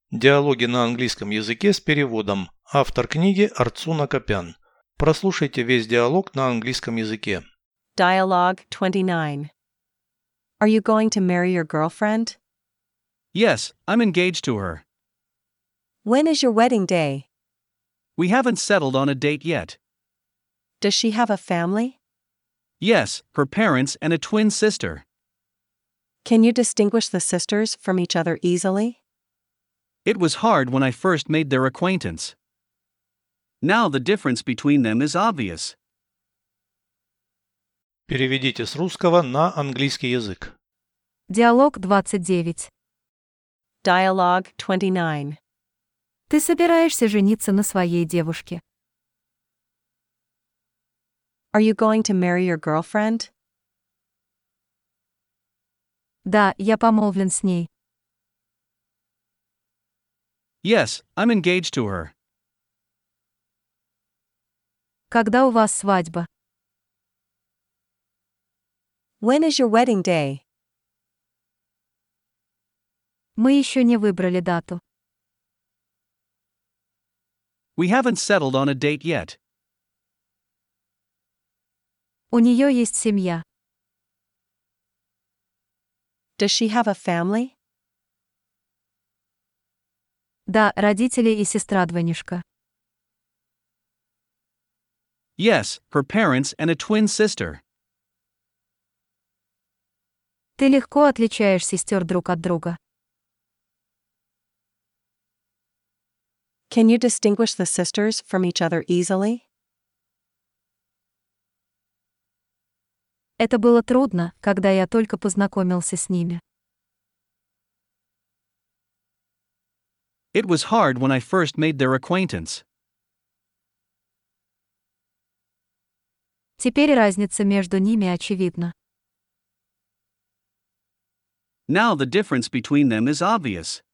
Диалоги на английском языке с переводом. Автор книги Арцуна Копян. Прослушайте весь диалог на английском языке. Dialogue 29. Are you going to marry your girlfriend? Yes, I'm engaged to her. When is your wedding day? We haven't settled on a date yet. Does she have a family? Yes, her parents and a twin sister. Can you distinguish the sisters from each other easily? It was hard when I first made their acquaintance. Now the difference between them is obvious. Переведите с русского на английский язык. Диалог 29. Dialogue 29. Ты собираешься жениться на своей девушке. Are you going to marry your girlfriend? Да, я помолвлен с ней. Yes, I'm engaged to her. Когда у вас свадьба? When is your wedding day? Мы еще не выбрали дату. We haven't settled on a date yet. У нее есть семья. Does she have a family? Да, родители и сестра-двойняшка. Yes, her parents and a twin sister. Ты легко отличаешь сестер друг от друга. Can you distinguish the sisters from each other easily? Это было трудно, когда я только познакомился с ними. It was hard when I first made their acquaintance. Теперь разница между ними очевидна. Now the difference between them is obvious.